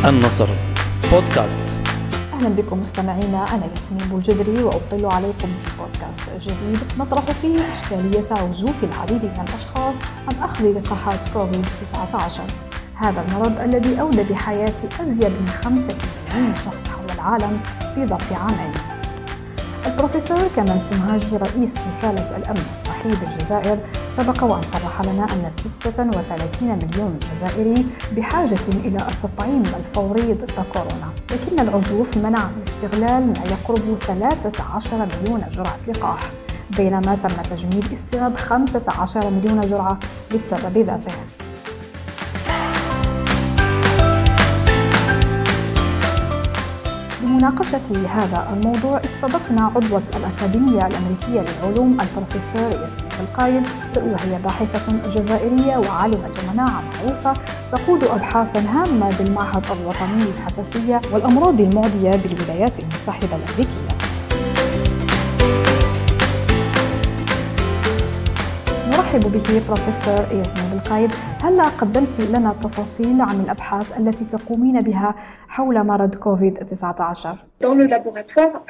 النصر بودكاست. أهلا بكم مستمعينا، أنا ياسمين بوجدري وأطل عليكم في بودكاست جديد نطرح فيه إشكالية عزوف العديد من الأشخاص عن أخذ لقاحات كوفيد-19. هذا المرض الذي أودى بحياة أزيد من 5 ملايين شخص حول العالم في ظرف عامين. البروفيسور كمال سمهاجي رئيس وكالة الأمن الصحي بالجزائر سبق وأن صرح لنا أن 36 مليون جزائري بحاجة إلى التطعيم الفوري ضد كورونا، لكن العزوف منع من استغلال ما يقرب 13 مليون جرعة لقاح، بينما تم تجميد استيراد 15 مليون جرعة للسبب ذاته. لمناقشة هذا الموضوع استضفنا عضوة الأكاديمية الأمريكية للعلوم البروفيسور ياسمين بالقايد، وهي باحثة جزائرية وعالمة مناعة معروفة تقود أبحاثا هامة بالمعهد الوطني للحساسية والأمراض المعدية بالولايات المتحدة الأمريكية. نرحب بك بروفيسور ياسمين بالقايد. هل قدمت لنا تفاصيل عن الأبحاث التي تقومين بها حول مرض كوفيد-19؟ Dans le laboratoire,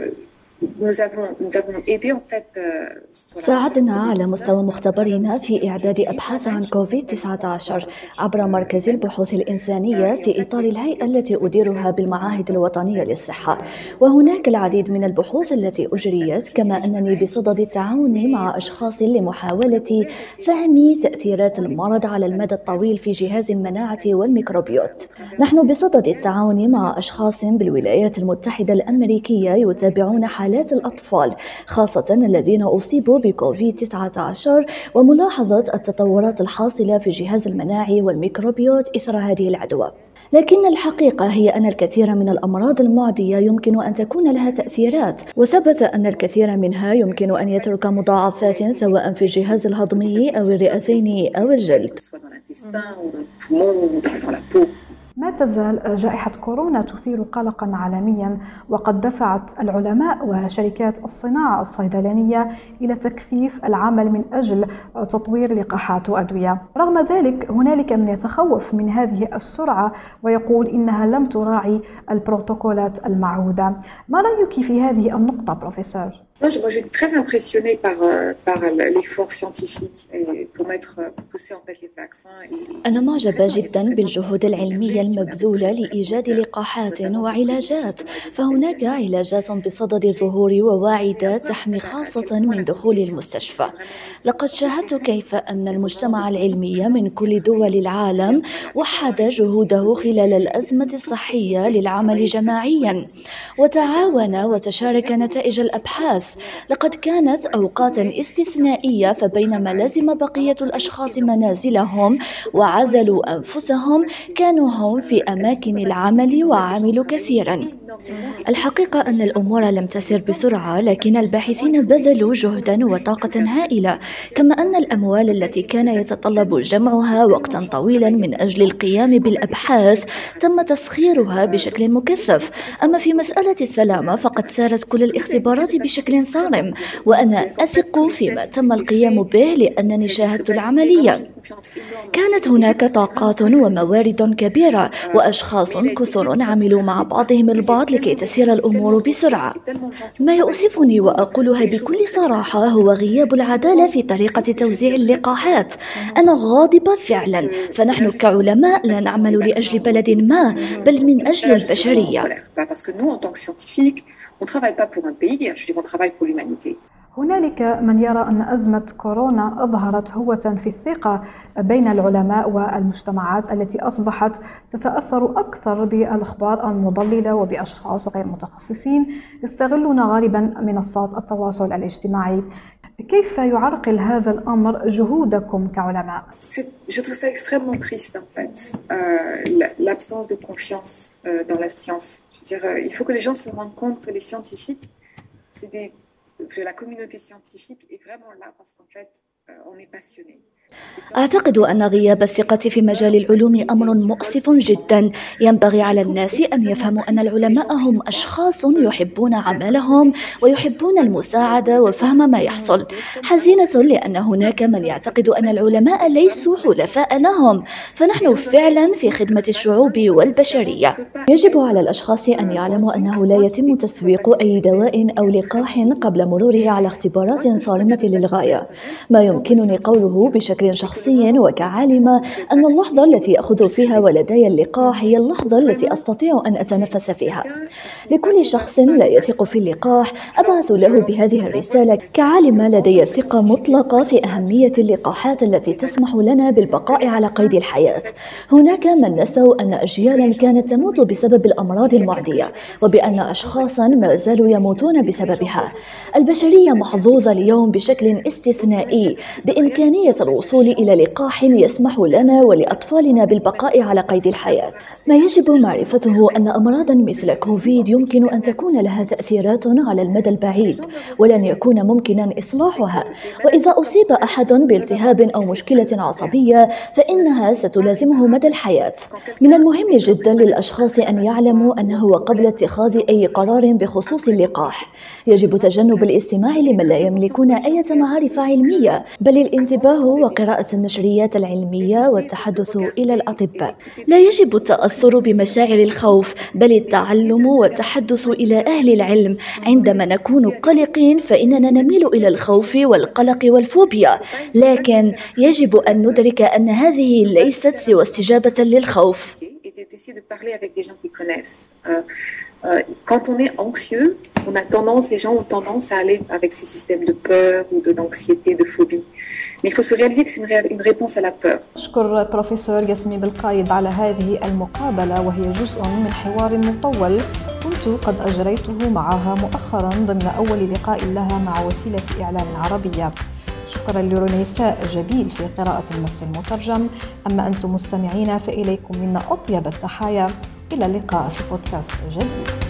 ساعدنا على مستوى مختبرنا في إعداد أبحاث عن كوفيد-19 عبر مركز البحوث الإنسانية في إطار الهيئة التي أديرها بالمعاهد الوطنية للصحة، وهناك العديد من البحوث التي أجريت، كما أنني بصدد التعاون مع أشخاص لمحاولة فهم تأثيرات المرض على المدى الطويل في جهاز المناعة والميكروبيوت. نحن بصدد التعاون مع أشخاص بالولايات المتحدة الأمريكية يتابعون حالات الأطفال، خاصة الذين أصيبوا بكوفيد-19، وملاحظة التطورات الحاصلة في الجهاز المناعي والميكروبيوت إثر هذه العدوى. لكن الحقيقة هي أن الكثير من الأمراض المعدية يمكن أن تكون لها تأثيرات، وثبت أن الكثير منها يمكن أن يترك مضاعفات سواء في الجهاز الهضمي أو الرئتين أو الجلد. ما تزال جائحة كورونا تثير قلقاً عالمياً، وقد دفعت العلماء وشركات الصناعة الصيدلانية إلى تكثيف العمل من أجل تطوير لقاحات وأدوية. رغم ذلك هنالك من يتخوف من هذه السرعة ويقول إنها لم تراعي البروتوكولات المعهودة. ما رأيك في هذه النقطة بروفيسور؟ Moi, j'ai très impressionné par l'effort scientifique et pour pousser en fait les vaccins. أنا معجبة جدا بالجهود العلمية المبذولة لإيجاد لقاحات وعلاجات، فهناك علاجات بصدد الظهور وواعدة تحمي خاصة من دخول المستشفى. لقد شاهدت كيف أن المجتمع العلمي من كل دول العالم وحد جهوده خلال الأزمة الصحية للعمل جماعيا، وتعاون وتشارك نتائج الأبحاث. لقد كانت أوقات استثنائية، فبينما لزم بقية الأشخاص منازلهم وعزلوا أنفسهم، كانوا هم في أماكن العمل وعملوا كثيرا. الحقيقة أن الأمور لم تسر بسرعة، لكن الباحثين بذلوا جهدا وطاقة هائلة، كما أن الأموال التي كان يتطلب جمعها وقتا طويلا من أجل القيام بالأبحاث تم تسخيرها بشكل مكثف. أما في مسألة السلامة فقد سارت كل الاختبارات بشكل صارم، وأنا أثق فيما تم القيام به لأنني شاهدت العملية. كانت هناك طاقات وموارد كبيرة وأشخاص كثر عملوا مع بعضهم البعض لكي تسير الأمور بسرعة. ما يؤسفني وأقولها بكل صراحة هو غياب العدالة في طريقة توزيع اللقاحات. أنا غاضبة فعلا، فنحن كعلماء لا نعمل لأجل بلد ما، بل من أجل البشرية. هنالك من يرى أن أزمة كورونا أظهرت هوة في الثقة بين العلماء والمجتمعات التي أصبحت تتأثر أكثر بالأخبار المضللة وبأشخاص غير متخصصين يستغلون غالبا منصات التواصل الاجتماعي. كيف يعرقل هذا الأمر جهودكم كعلماء؟ Je trouve ça extrêmement triste en fait, l'absence de confiance dans la science. Je veux dire, il faut que les gens se rendent compte que les scientifiques, que la communauté scientifique est vraiment là parce qu'en fait, on est passionné. أعتقد أن غياب الثقة في مجال العلوم أمر مؤسف جدا. ينبغي على الناس أن يفهموا أن العلماء هم أشخاص يحبون عملهم ويحبون المساعدة وفهم ما يحصل. حزينة لأن هناك من يعتقد أن العلماء ليسوا حلفاء لهم، فنحن فعلا في خدمة الشعوب والبشرية. يجب على الأشخاص أن يعلموا أنه لا يتم تسويق أي دواء أو لقاح قبل مروره على اختبارات صارمة للغاية. ما يمكنني قوله بشكل شخصي وكعالمة أن اللحظة التي أخذ فيها ولدي اللقاح هي اللحظة التي أستطيع أن أتنفس فيها. لكل شخص لا يثق في اللقاح أبعث له بهذه الرسالة. كعالمة لدي ثقة مطلقة في أهمية اللقاحات التي تسمح لنا بالبقاء على قيد الحياة. هناك من نسوا أن أجيالا كانت تموت بسبب الأمراض المعدية، وبأن أشخاصا ما زالوا يموتون بسببها. البشرية محظوظة اليوم بشكل استثنائي بإمكانية الوصول إلى لقاح يسمح لنا ولأطفالنا بالبقاء على قيد الحياة. ما يجب معرفته أن أمراضا مثل كوفيد يمكن أن تكون لها تأثيرات على المدى البعيد ولن يكون ممكنا إصلاحها، وإذا أصيب أحد بالتهاب أو مشكلة عصبية فإنها ستلازمه مدى الحياة. من المهم جدا للأشخاص أن يعلموا أنه قبل اتخاذ أي قرار بخصوص اللقاح يجب تجنب الاستماع لمن لا يملكون أي معارف علمية، بل الانتباه وقراءة النشريات العلمية والتحدث إلى الأطباء. لا يجب التأثر بمشاعر الخوف، بل التعلم والتحدث إلى أهل العلم. عندما نكون قلقين فإننا نميل إلى الخوف والقلق والفوبيا، لكن يجب أن ندرك أن هذه ليست سوى استجابة للخوف. Quand on est anxieux, les gens ont tendance à aller avec ces systèmes de peur ou d'anxiété, de phobie. Mais il faut se réaliser que c'est une réponse à la peur. أشكر بروفيسور ياسمين بالقايد على هذه المقابلة، وهي جزء من حوار مطول كنت قد أجريته معها مؤخرا ضمن أول لقاء لها مع وسيلة إعلام عربية. شكرا لرنيساء جبيل في قراءة النص المترجم. أما أنتم مستمعين فإليكم منا أطيب التحايا. إلى اللقاء في بودكاست جديد.